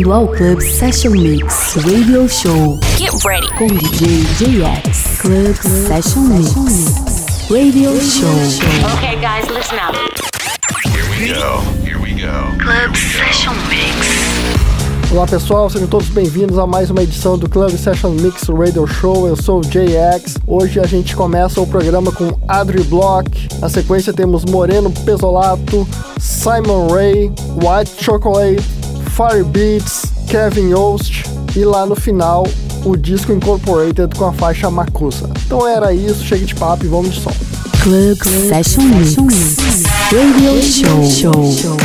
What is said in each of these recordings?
bem-vindo ao Club Session Mix Radio Show. Get ready com DJ JX. Club Session Mix Radio Show. Okay, guys, listen up. Here we go. Club Session Mix. Olá pessoal, sejam todos bem-vindos a mais uma edição do Club Session Mix Radio Show. Eu sou o JX. Hoje a gente começa o programa com Adri Block. Na sequência temos Moreno Pesolato, Simon Ray, White Chocolate, Fire Beats, Kevin Yost e lá no final o Disco Incorporated com a faixa Makusa. Então era isso, chega de papo e vamos de som. Club Session Mix Radio Show.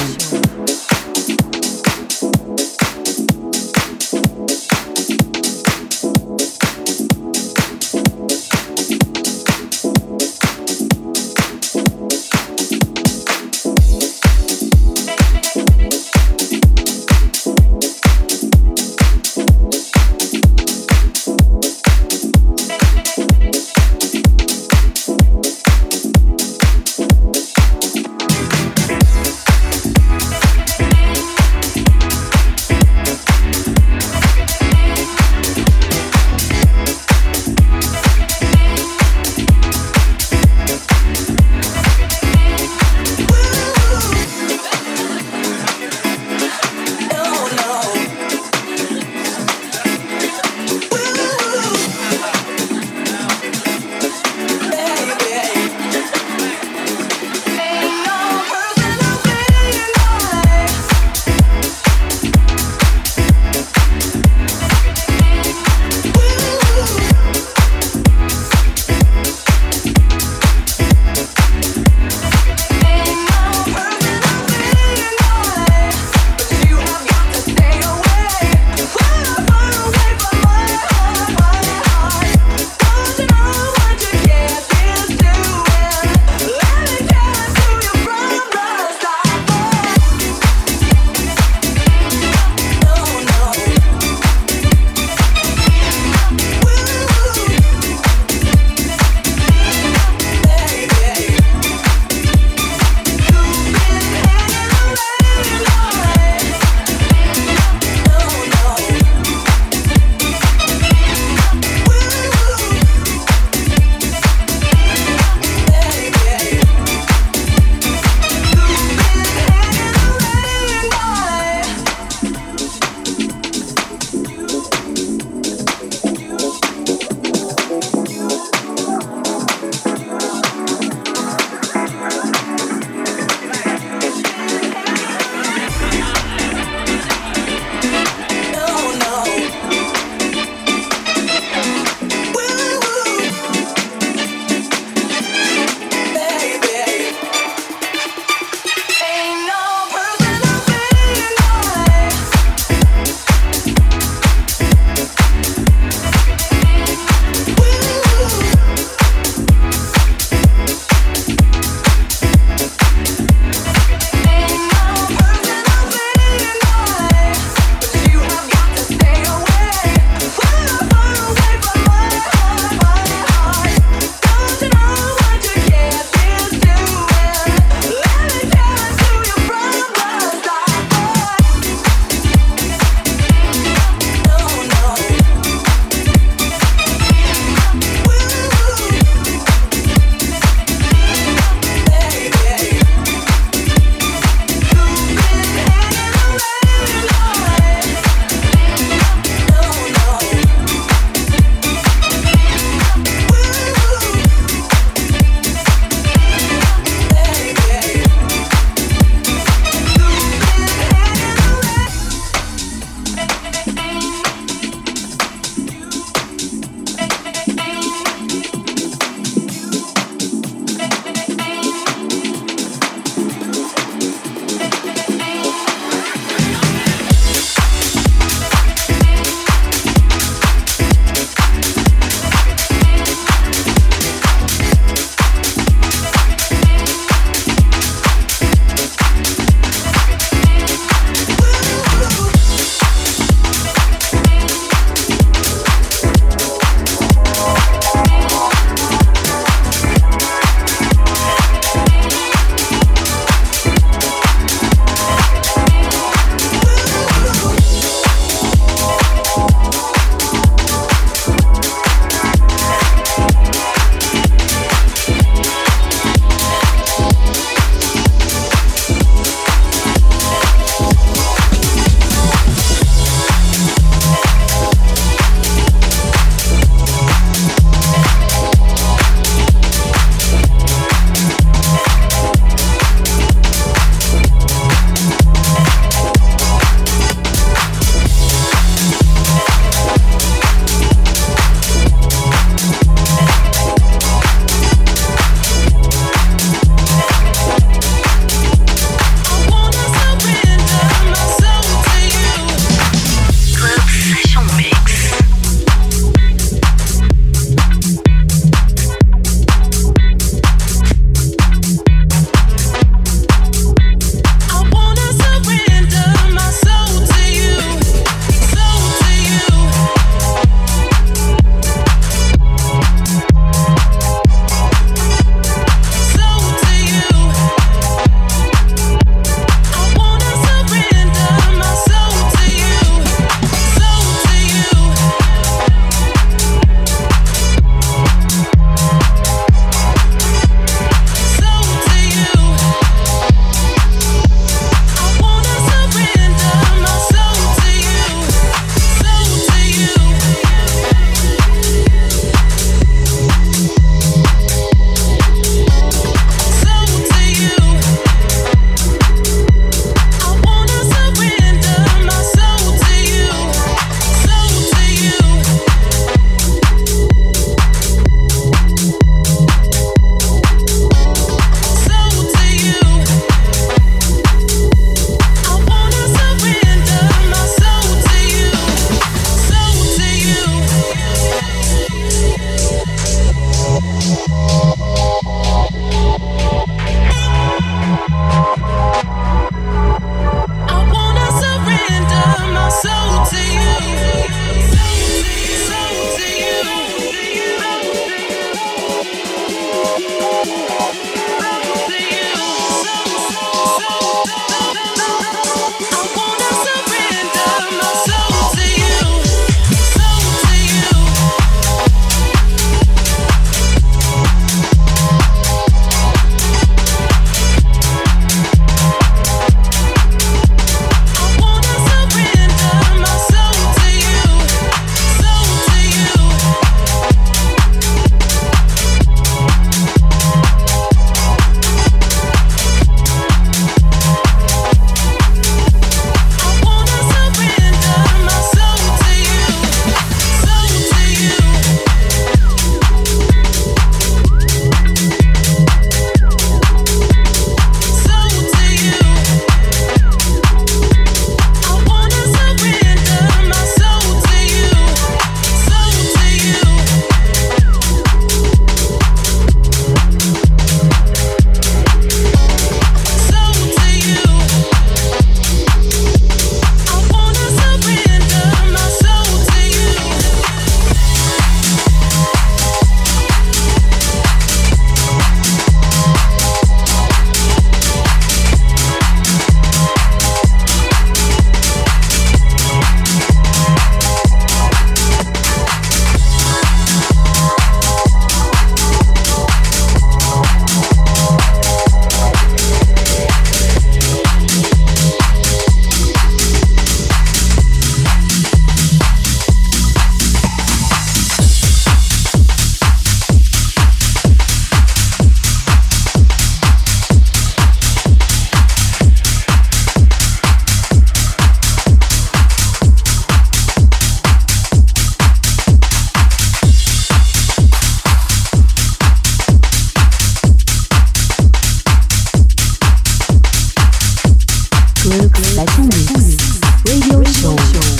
Club Session Mix Radio Show.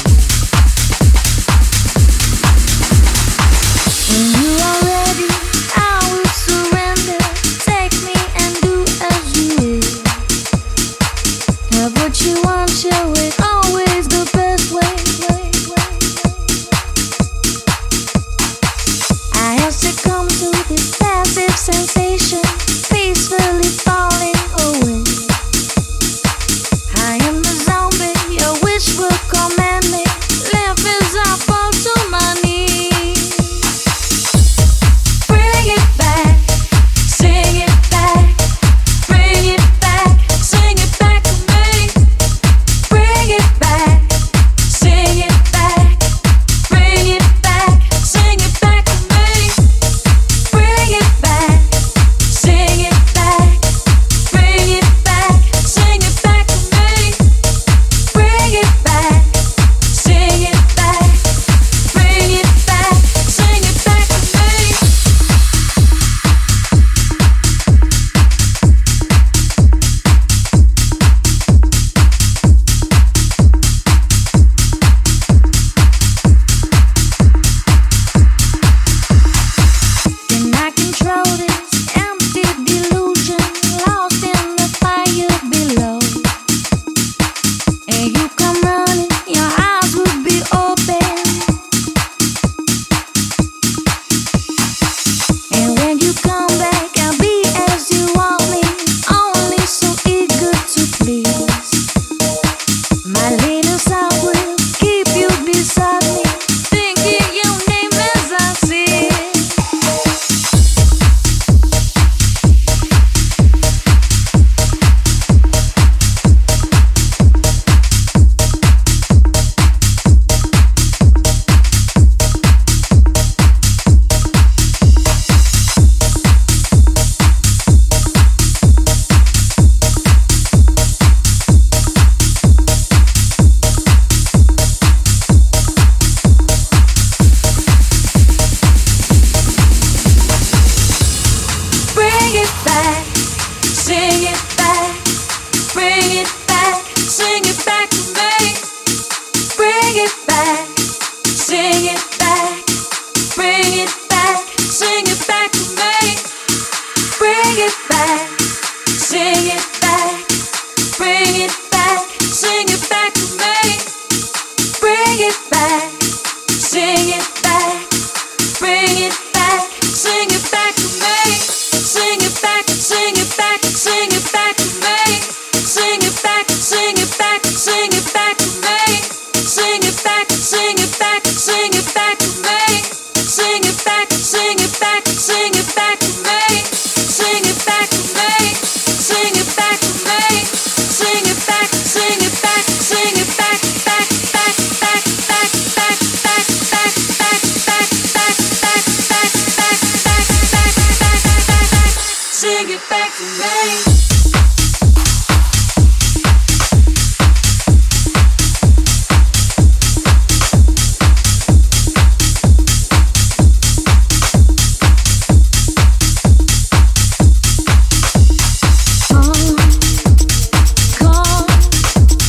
When you are ready, I will surrender. Take me and do as you will. Have what you want, show it always the best way. I have succumbed to this passive sensation, peacefully falling away. I am the zombie, your wish will command me. Left as I fall to my knees. Bring it back, sing it back. Bring it back, sing it back to me. Bring it back, sing it back. Bring it back, sing it back to me. Bring it back, sing it back. Bring it back, sing it back to me. Bring it back, sing it back. Bring it back, sing it back to me. Can I control this empty delusion, lost in the fire below? And you come running, your eyes would be open. And when you come back, I'll be as you want me, only so eager to please. My little self will keep you beside me, thinking your name as I see it. Bring it back, sing it back. Bring it back, sing it back to me. Bring it back, sing it back. Bring it back, sing it back to me. Bring it back, sing it back. Bring it back, sing it back to me. Bring it back, sing it back. Bring it back, sing it back to me. Sing it back, sing it back, sing it back to me. Sing it back, sing it back, sing it back to me. Sing it back, sing it back, sing it back to me. Sing it back, sing it back, sing it back to me. Sing it back to me. Sing it back to me. Sing it back, sing it back, sing it back, back, back, back, back, back, back, back, back, back, back, back, back, back, back, back. Sing it back to me. Come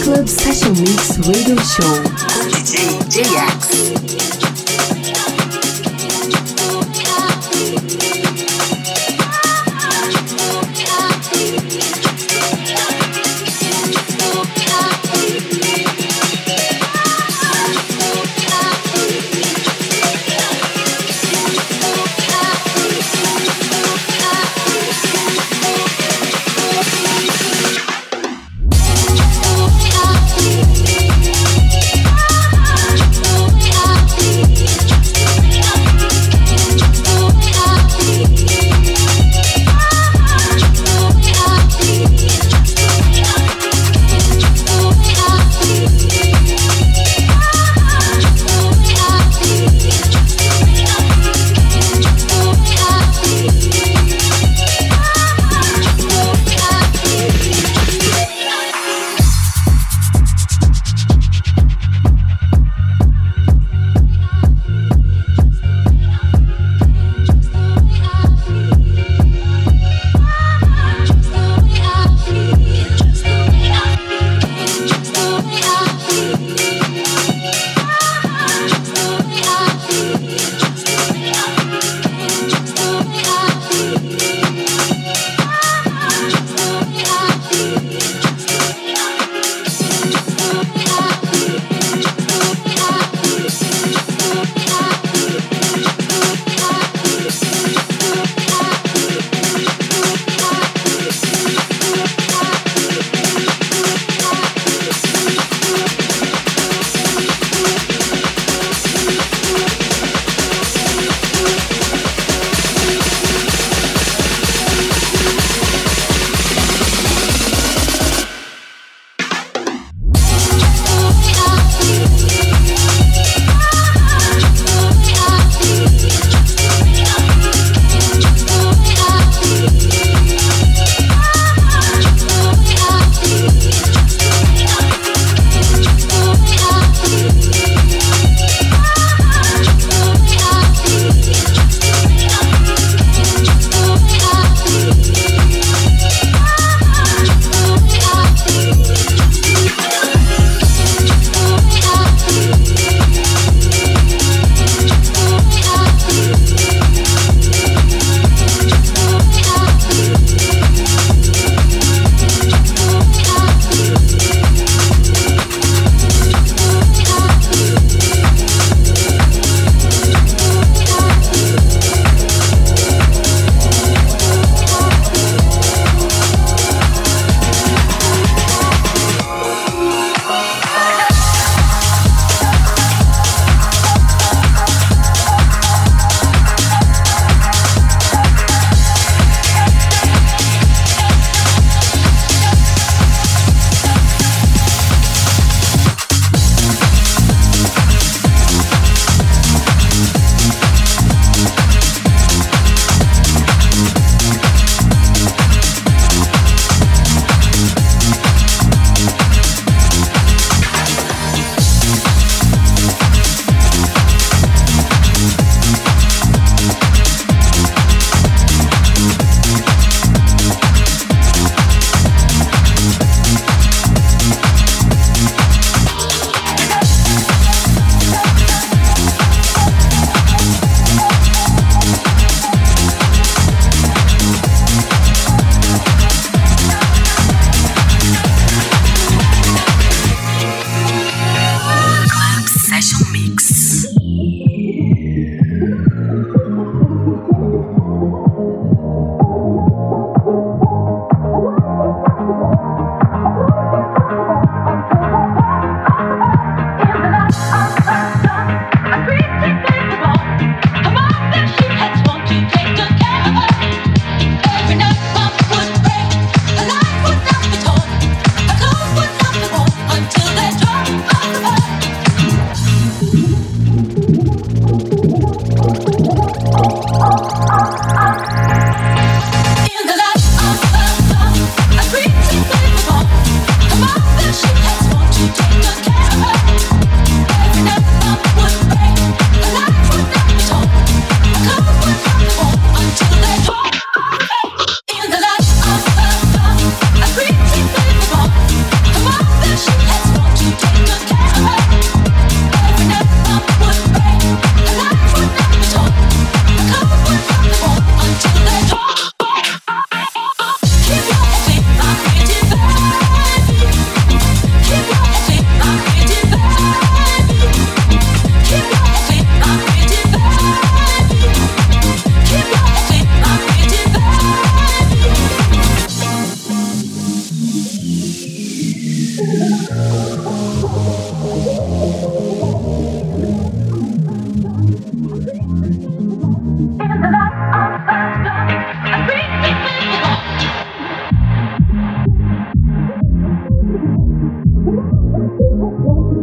Club Session Mix Radio Show. DJ JX. Happy.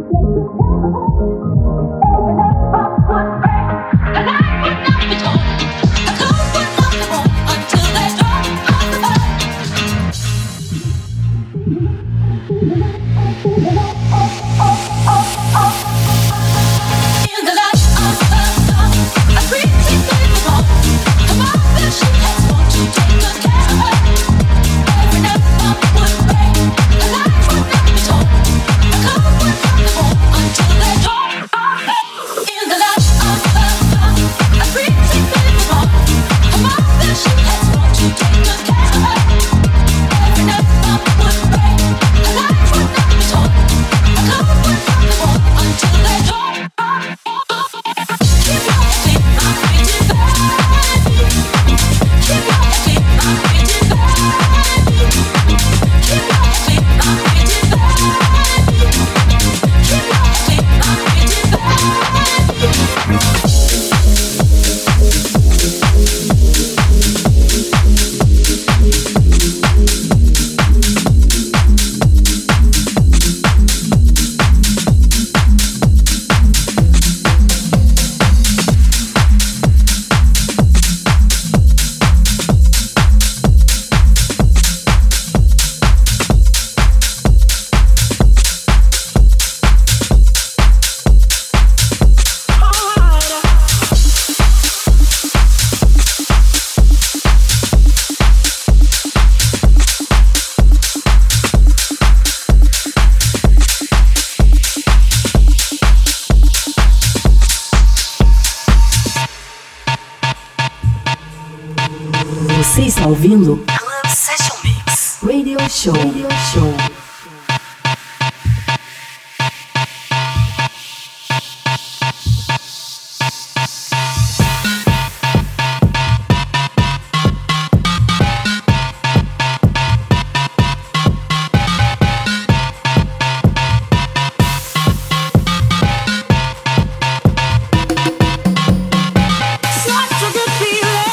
Você está ouvindo Club Session Mix Radio Show. Radio Show.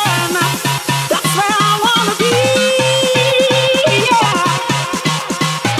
That's where I wanna be. Yeah.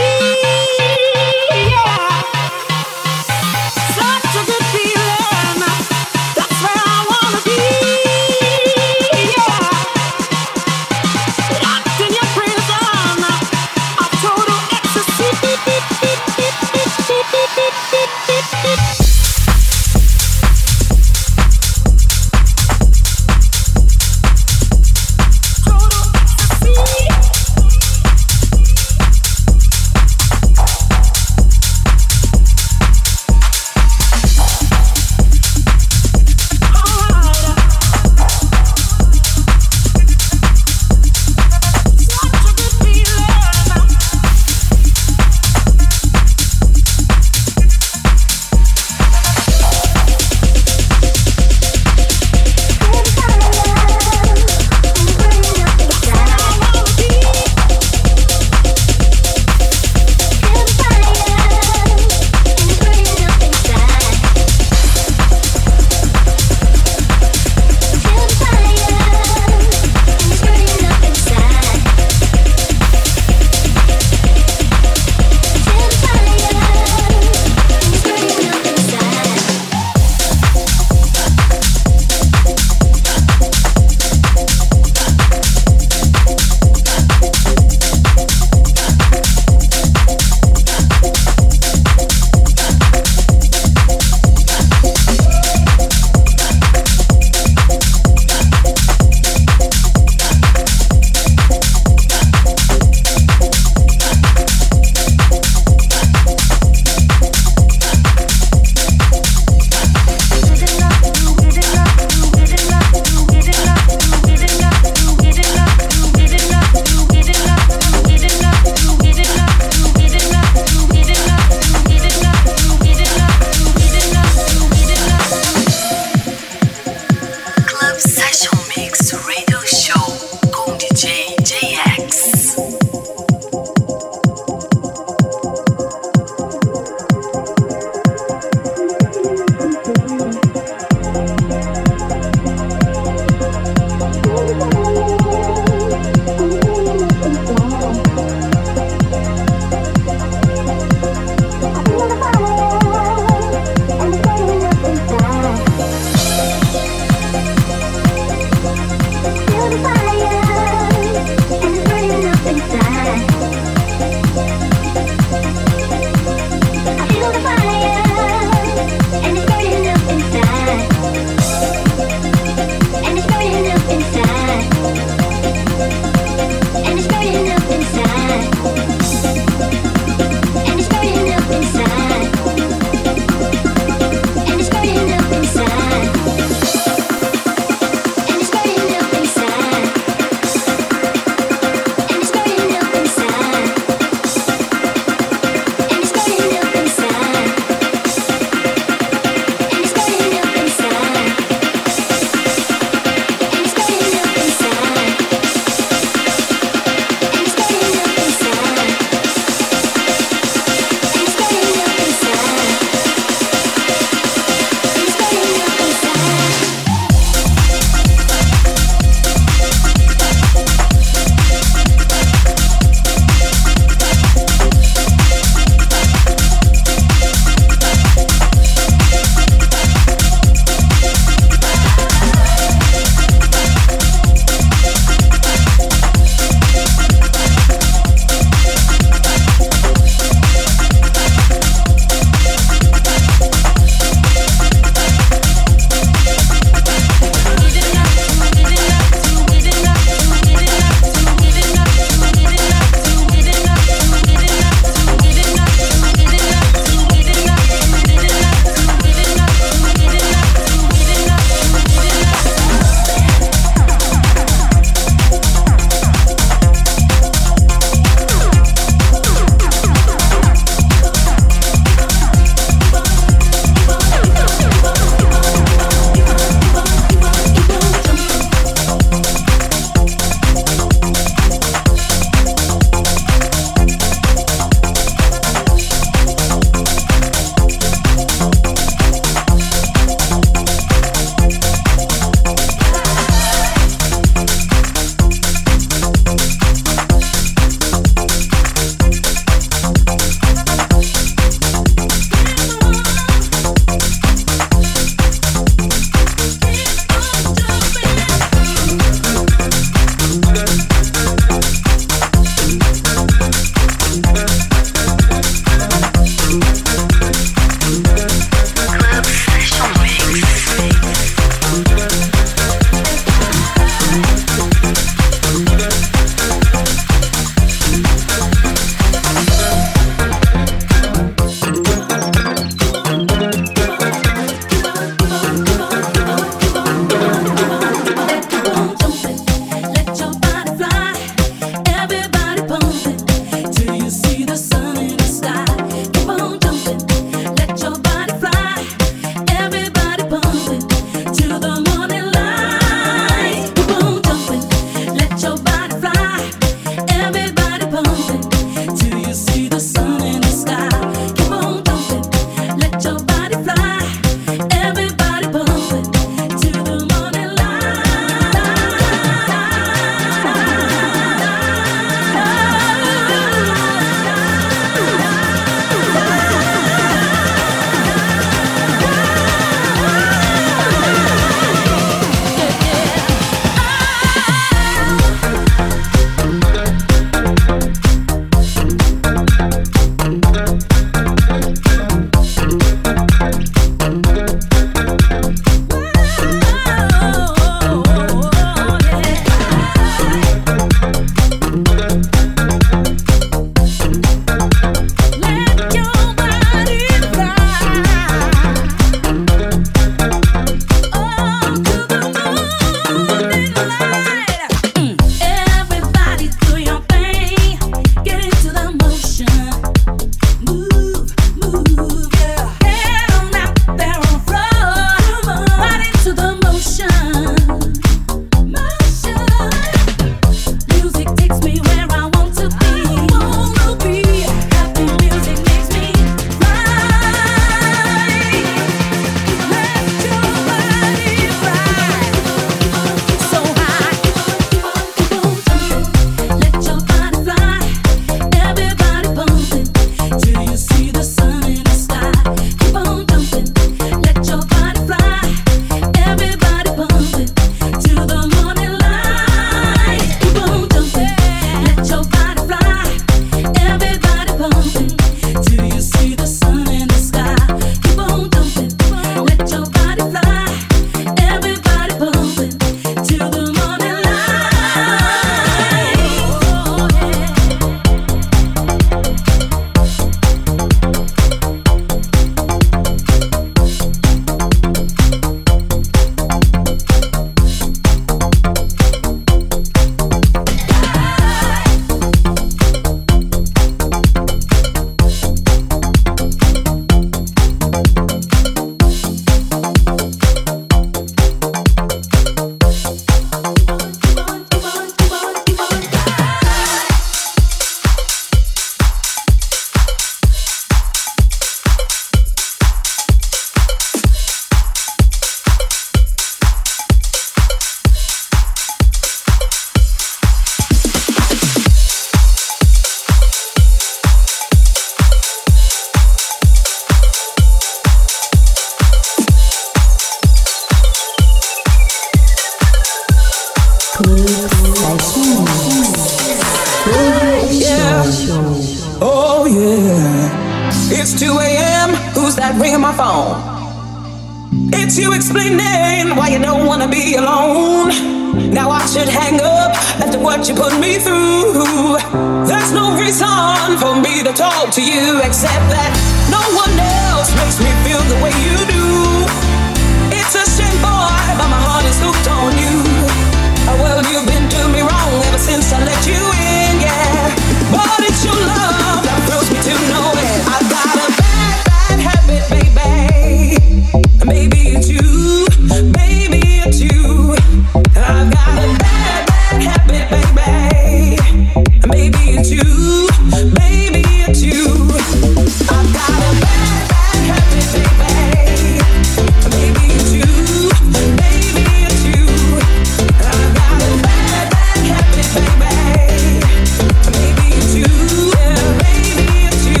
that ring on my phone. It's you explaining why you don't wanna be alone. Now I should hang up after what you put me through. There's no reason for me to talk to you except that no one else makes me feel the way you do. It's a shame, boy, but my heart is hooked on you. Well, you've been doing me wrong ever since I let you in, yeah. But it's your love that thrills me to know it. I've got a bad, bad habit, baby. Maybe it's you, maybe it's you. I've got a bad, bad habit, baby. Maybe it's you, maybe it's you. I've got a bad, bad habit, baby. Maybe it's you, maybe it's you. I've got a bad, bad habit, baby. Maybe it's you, yeah, maybe it's you.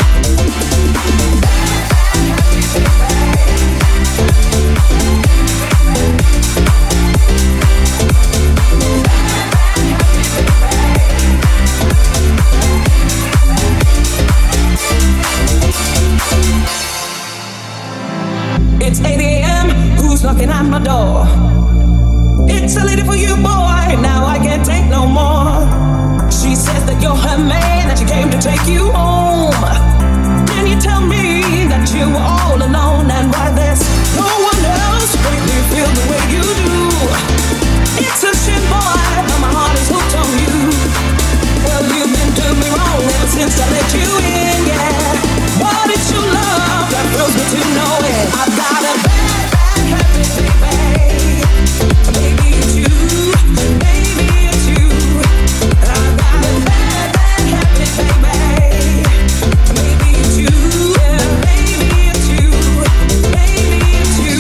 It's 8 a.m., who's knocking at my door? It's a lady for you, boy, now I can't take no more. She says that you're her man, that she came to take you home. Can you tell me that you were all alone and why there's no one else to make me feel the way you do? It's a shit, boy, but my heart is hooked on you. Well, you've been doing me wrong ever since I let you in, yeah. But it's your love that thrills me to know it. I've got a bad, bad habit, baby. Maybe it's you, maybe it's you. I've got a bad, bad habit, baby. Maybe it's you, yeah, maybe it's you, maybe it's you.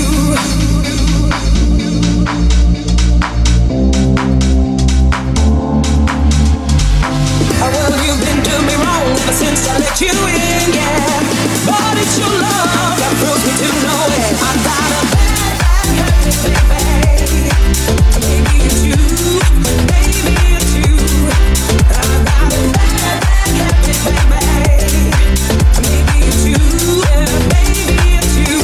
Well, you've been doing me wrong ever since I let you in, yeah. But it's your love that thrills me to know it. I've got a bad, bad habit, baby. Maybe it's you, maybe it's you. I've got a bad, bad habit, baby. Maybe it's you, yeah, maybe it's you.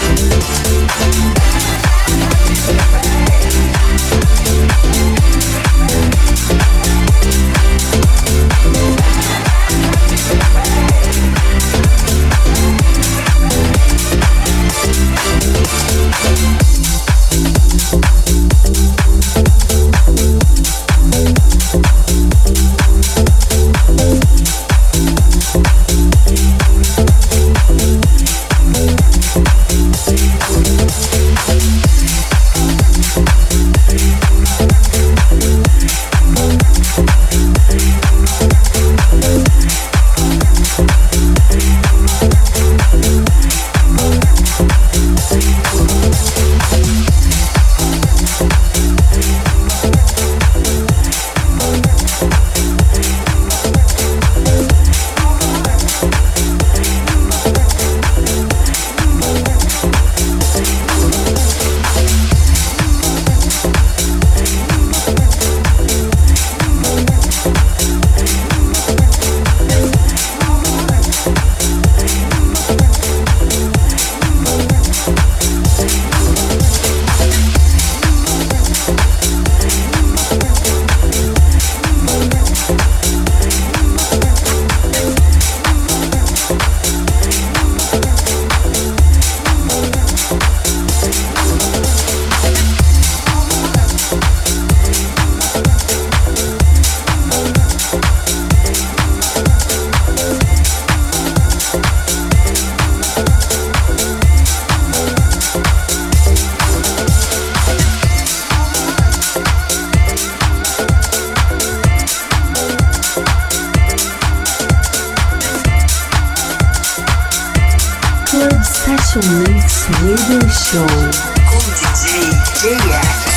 Session Mix Radio Show com DJ JX.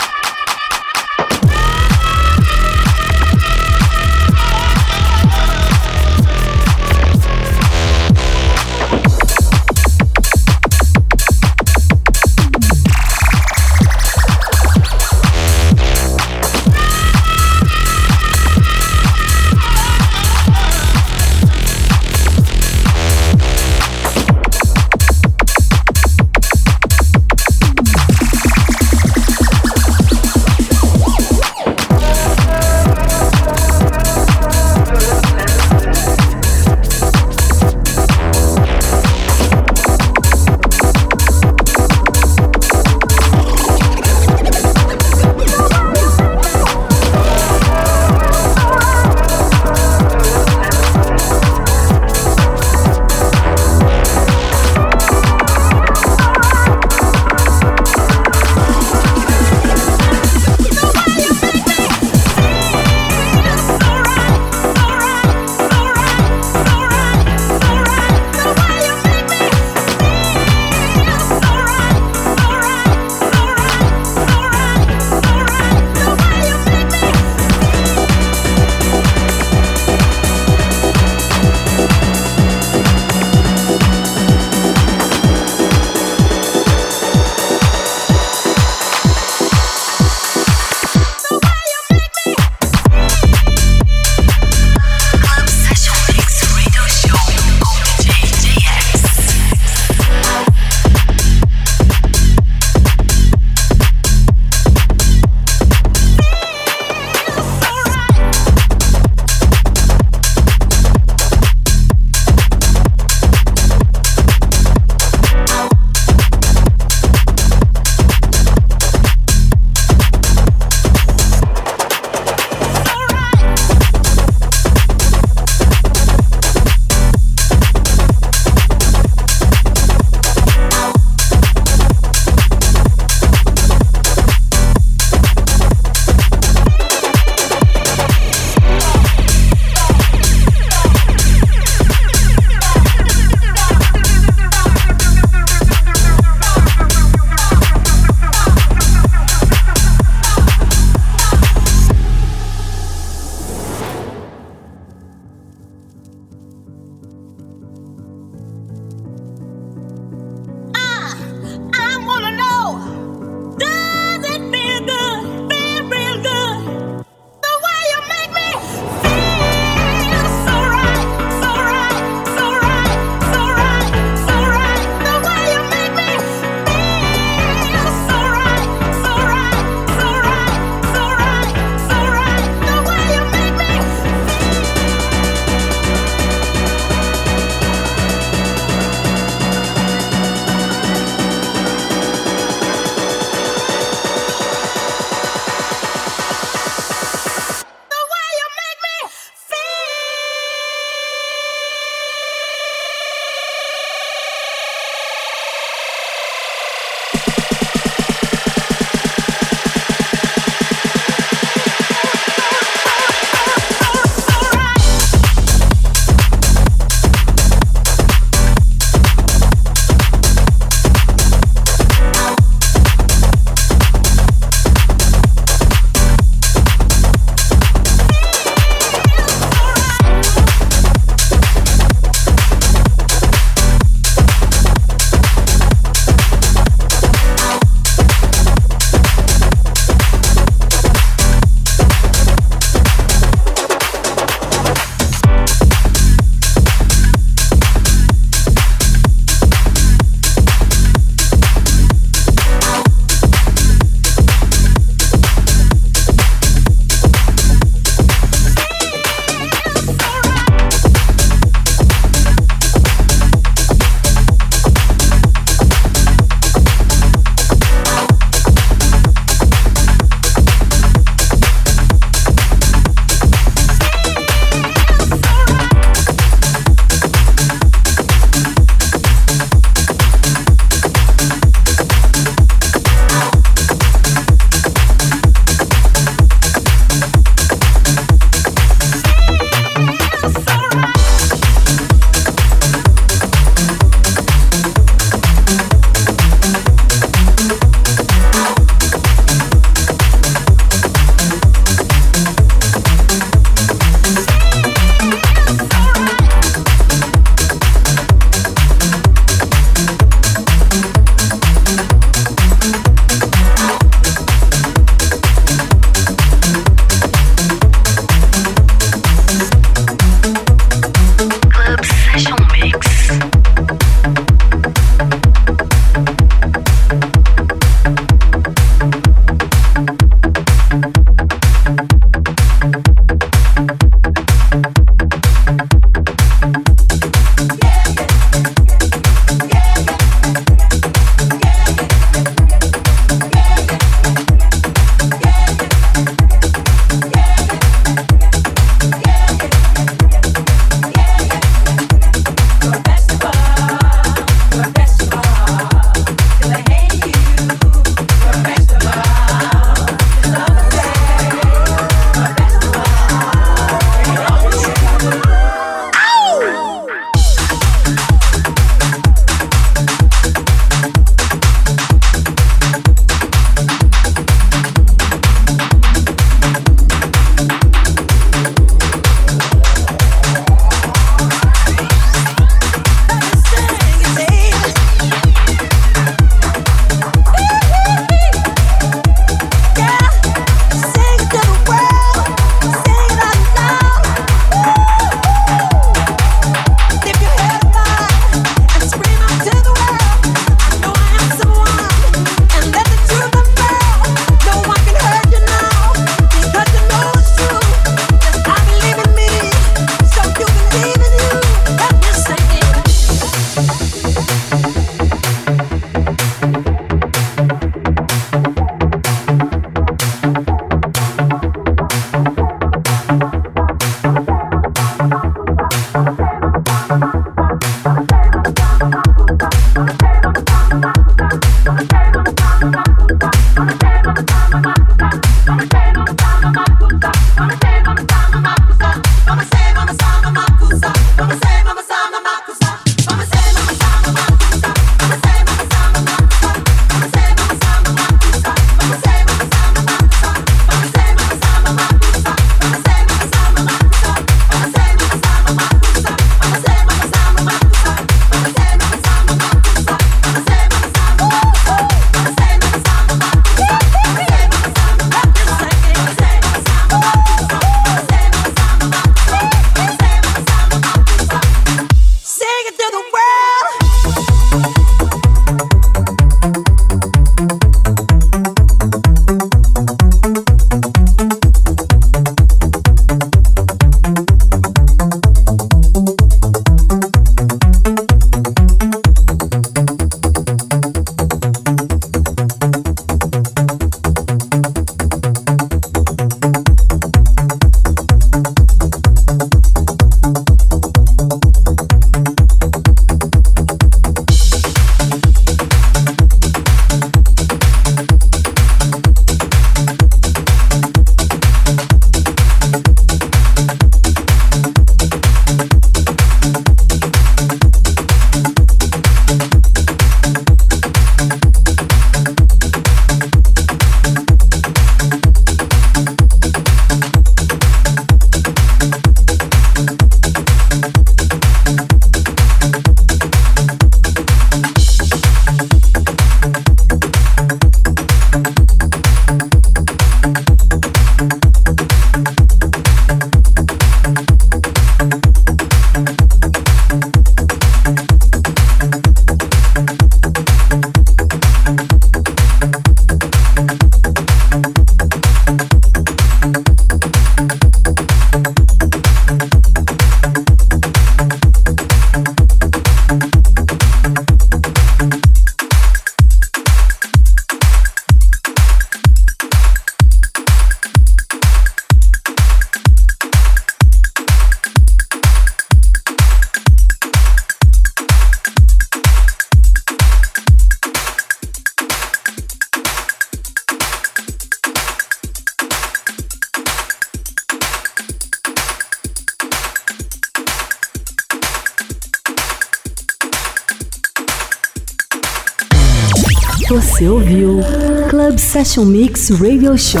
Você ouviu Club Session Mix Radio Show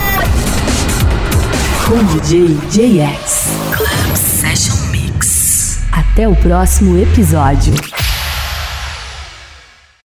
com DJ JX. Club Session Mix. Até o próximo episódio.